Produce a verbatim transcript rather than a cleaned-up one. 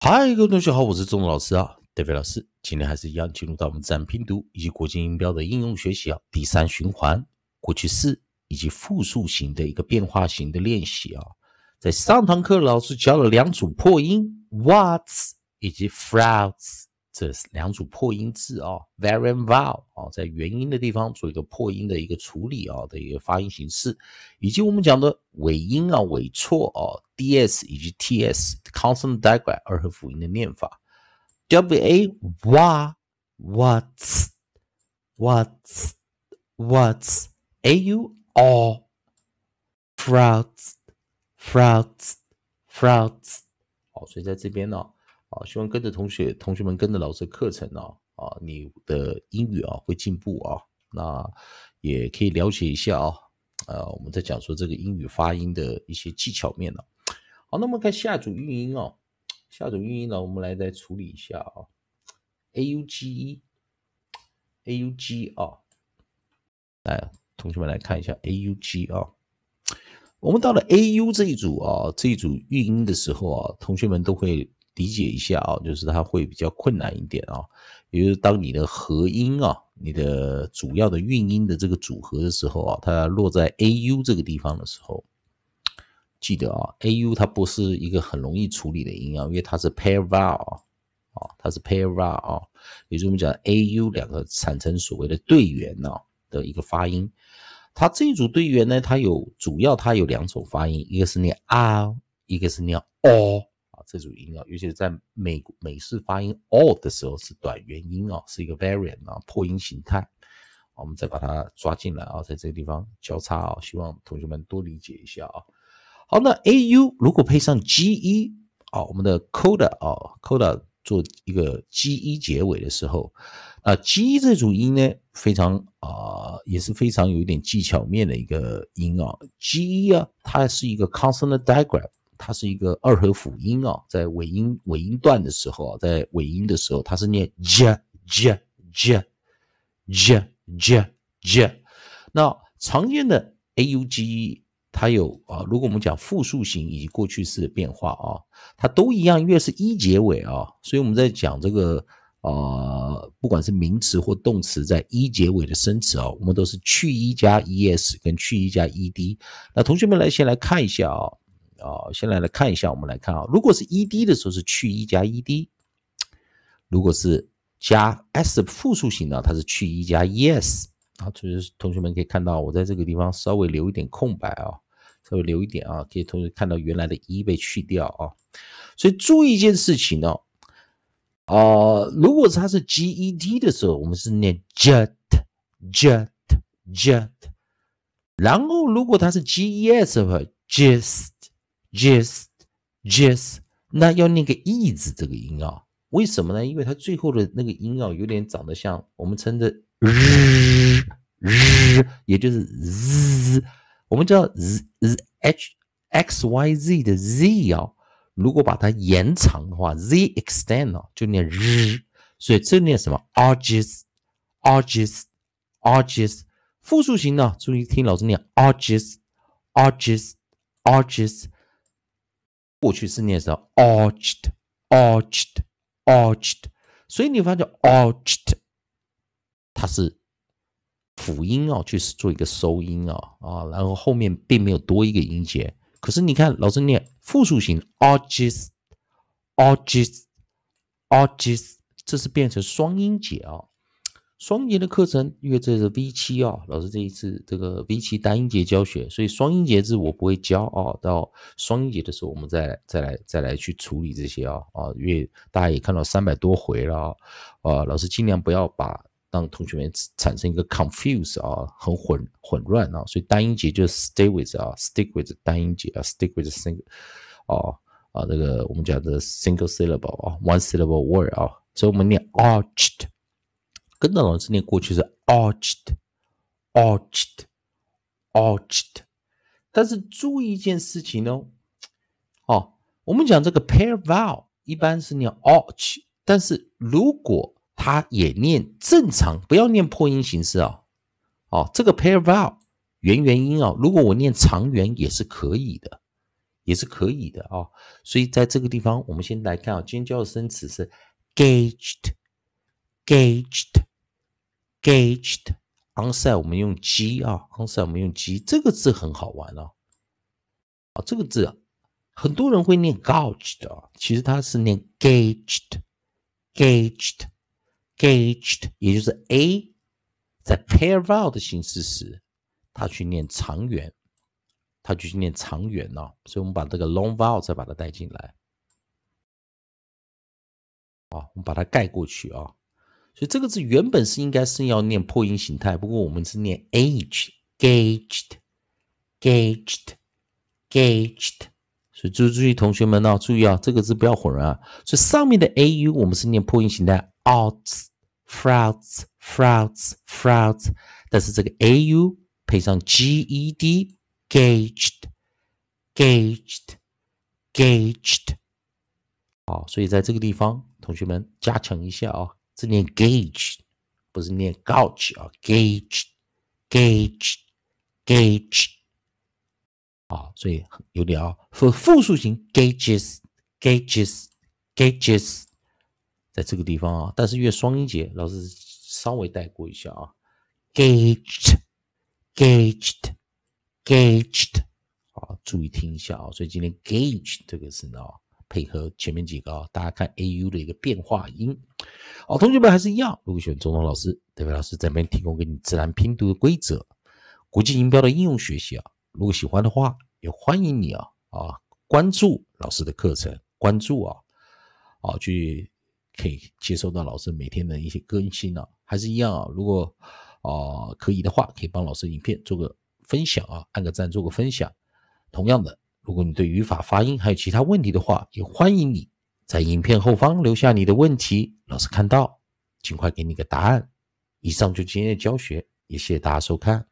嗨，各位同学好，我是钟老师啊，David 老师。今天还是一样进入到我们自然拼读以及国际音标的应用学习啊，第三循环过去式以及复数型的一个变化型的练习啊。在上堂课老师教了两组破音 what's 以及 frauds 这两组破音字啊 vowel and vowel 啊，在元音的地方做一个破音的一个处理啊的一个发音形式，以及我们讲的尾音啊尾错啊 ds 以及 ts consonant digraph 二合辅音的念法 wa wa what's what's what's au all frauds frauds frauds 好，所以在这边呢、啊啊，希望跟着同学同学们跟着老师的课程啊啊，你的英语啊会进步啊，那也可以了解一下啊，呃，我们在讲说这个英语发音的一些技巧面呢、啊。好，那我们看下组韵音哦，下组韵音呢，我们来再处理一下啊 ，auge aug 啊，来，同学们来看一下 aug 啊。我们到了 au 这一组啊，这一组韵音的时候啊，同学们都会理解一下啊，就是它会比较困难一点啊。也就是当你的合音啊，你的主要的韵音的这个组合的时候啊，它落在 au 这个地方的时候，记得啊 ，au 它不是一个很容易处理的音啊，因为它是 pair vowel 啊，它是 pair vowel 啊，也就是我们讲 au 两个产生所谓的对元啊的一个发音。它这一组对元呢，它有主要它有两种发音，一个是念 r， 一个是念 o 啊，这组音啊，尤其是在美美式发音 o 的时候是短元音啊，是一个 variant 啊，破音形态。我们再把它抓进来啊，在这个地方交叉啊，希望同学们多理解一下啊。好，那 au 如果配上 ge 啊，我们的 coda 啊 ，coda 做一个 ge 结尾的时候，啊 ge 这组音呢，非常啊、呃，也是非常有一点技巧面的一个音啊。ge 啊，它是一个 consonant digraph， 它是一个二合辅音啊，在尾音尾音段的时候啊，在尾音的时候，它是念 j j j j j j。那常见的 auge 它有啊，如果我们讲复数型以及过去式的变化啊，它都一样，因为是一结尾啊，所以我们在讲这个呃，不管是名词或动词在一结尾的生词啊，我们都是去一加 es 跟去一加 ed。那同学们来先来看一下啊，啊，先来来看一下，我们来看啊，如果是 ed 的时候是去一加 ed， 如果是加 s 复数型呢，它是去一加 es。啊，就是同学们可以看到，我在这个地方稍微留一点空白啊，稍微留一点啊，可以同学看到原来的一被去掉啊。所以注意一件事情哦，呃，如果它是 get 的时候，我们是念 jet jet jet， 然后如果它是 ges 的话 just just just， 那要念个 e 字这个音啊，为什么呢？因为它最后的那个音啊，有点长得像我们称的日日，也就是 z， 我们知道 z, z h x y z 的 z 啊，如果把它延长的话 z extend 啊，就念日，所以这念什么 arges arges arges。复数型呢，注意听老师念 arges arges arges， 过去式念什么 arched arched arched， 所以你发现 arched 它是辅音啊，去做一个收音啊啊，然后后面并没有多一个音节。可是你看老师念复数型 arches arches arches， 这是变成双音节啊。双音节的课程，因为这是 V 七 啊，老师这一次这个 V 七 单音节教学，所以双音节字我不会教啊。到双音节的时候，我们再来再来再来去处理这些啊啊，因为大家也看到三百多回了啊，老师尽量不要把让同学们产生一个 confuse 啊，很混混乱啊，所以单音节就 stay with 啊 ，stick with 单音节啊 ，stick with single 啊啊，这个我们讲的 single syllable 啊 ，one syllable word 啊，所以我们念 arched。跟着老师念过去是 arched arched arched， 但是注意一件事情哦，哦，我们讲这个 pair vowel 一般是念 arch， 但是如果它也念正常，不要念破音形式啊，哦，这个 pair vowel 元元音啊，如果我念长元也是可以的， 也是可以的啊。所以在这个地方，我们先来看啊，今天教的生词是 gauged，gauged，gauged。onside 我们用 g 啊 ，onside 我们用 g， 这个字很好玩啊。啊，这个字啊，很多人会念 gouged 啊，其实它是念 gauged，gauged，gauged， 也就是 a 在 pair vowel 的形式时，它去念长元，它就去念长元啊，所以我们把这个 long vowel 再把它带进来，啊，我们把它盖过去啊。所以这个字原本是应该是要念破音形态，不过我们是念 age，gauged，gauged，gauged。所以注注意同学们啊，注意啊，这个字不要混啊。所以上面的 au 我们是念破音形态 outs，frauds，frauds，frauds， 但是这个 au 配上 ged，gauged，gauged，gauged。好，所以在这个地方，同学们加强一下啊，是念 gauge， 不是念 gouge 啊 ，gauge，gauge，gauge。啊，所以有点啊，复复数型 gauges，gauges，gauges， 在这个地方啊，但是越双音节，老师稍微带过一下啊 ，gauged，gauged，gauged， 啊，注意听一下啊，所以今天 gauge 这个是呢，配合前面几个啊，大家看 au 的一个变化音。好，同学们还是一样，如果喜欢中东老师，这位老师这边提供给你自然拼读的规则，国际音标的应用学习啊。如果喜欢的话，也欢迎你啊啊关注老师的课程，关注啊啊去可以接收到老师每天的一些更新啊，还是一样啊。如果啊可以的话，可以帮老师影片做个分享啊，按个赞做个分享。同样的，如果你对语法、发音还有其他问题的话，也欢迎你在影片后方留下你的问题，老师看到尽快给你个答案。以上就今天的教学，也谢谢大家收看。